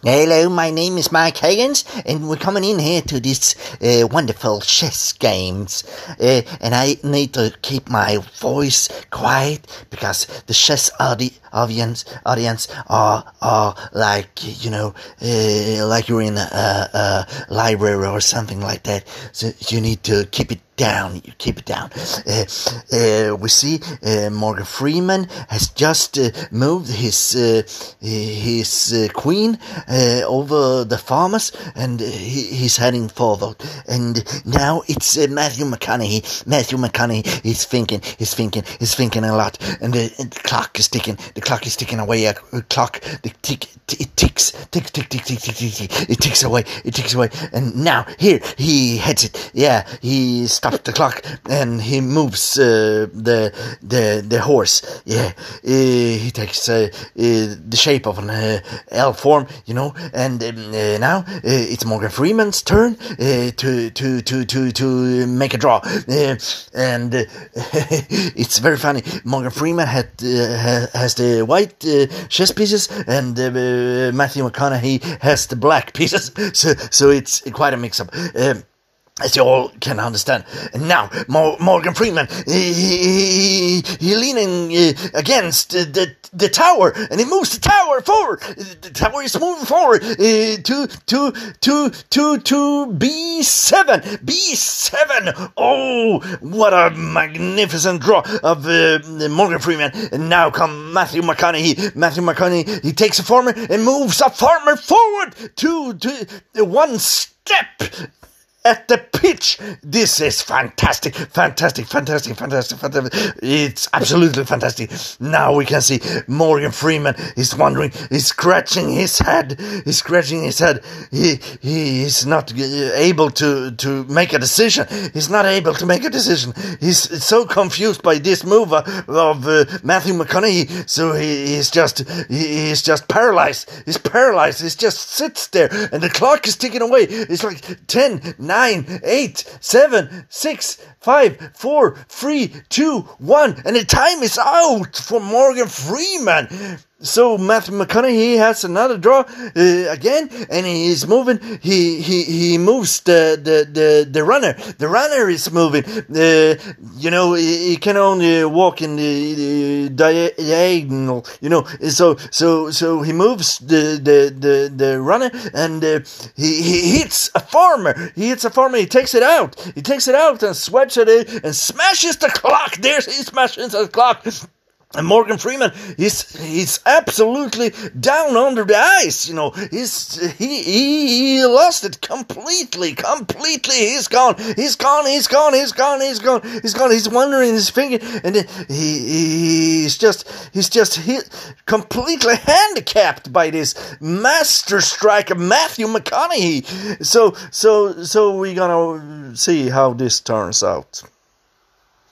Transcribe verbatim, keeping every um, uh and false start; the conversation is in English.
Hello, my name is Mike Higgins, and we're coming in here to this uh, wonderful chess games. Uh, and I need to keep my voice quiet because the chess audi- audience audience are are like you know uh, like you're in a, a library or something like that. So you need to keep it down. You keep it down. Uh, uh, we see uh, Morgan Freeman has just uh, moved his uh, his uh, queen uh, over the farmers, and uh, he, he's heading forward. And now it's uh, Matthew McConaughey. Matthew McConaughey is thinking. He's thinking. He's thinking a lot. And the, and the clock is ticking. The clock is ticking away. A clock. The tick. T- it ticks. Tick. Tick. Tick. Tick. Tick. Tick. Tick. It ticks away. It ticks away. And now here he heads it. Yeah. He stops the clock and he moves uh, the the the horse. Yeah, uh, he takes uh, uh, the shape of an uh, L form, you know. And um, uh, now uh, it's Morgan Freeman's turn uh, to to to to to make a draw. Uh, and uh, it's very funny. Morgan Freeman had uh, has the white uh, chess pieces, and uh, Matthew McConaughey has the black pieces. So so it's quite a mix-up. Um, As you all can understand. And now, Mo- Morgan Freeman, he, he, he, he leaning uh, against uh, the the tower, and he moves the tower forward. The tower is moving forward uh, to to to to to B seven. B seven. Oh, what a magnificent draw of uh, Morgan Freeman. And now come Matthew McConaughey. Matthew McConaughey. He takes a farmer and moves a farmer forward to to one step at the pitch. This is fantastic, fantastic, fantastic, fantastic, fantastic. It's absolutely fantastic. Now we can see Morgan Freeman is wondering, he's scratching his head, he's scratching his head. He he is not able to, to make a decision. He's not able to make a decision. He's so confused by this move of uh, Matthew McConaughey. So he, he's just he, he's just paralyzed. He's paralyzed. He just sits there, and the clock is ticking away. It's like ten, nine, eight, seven, six, five, four, three, two, one, and the time is out for Morgan Freeman. So Matthew McConaughey has another draw uh, again, and he is moving. He he he moves the the the, the runner. The runner is moving. Uh, you know, he, he can only walk in the, the diagonal. You know, so so so he moves the the the, the runner, and uh, he he hits a farmer. He hits a farmer. He takes it out. He takes it out and swipes at it and smashes the clock. There's he smashes the clock. And Morgan Freeman, he's he's absolutely down under the ice, you know. He's he he, he lost it completely, completely. He's gone, he's gone, he's gone, he's gone, he's gone, he's gone. He's wondering his finger, and then he he's just he's just hit completely handicapped by this master striker Matthew McConaughey. So so so we're gonna see how this turns out.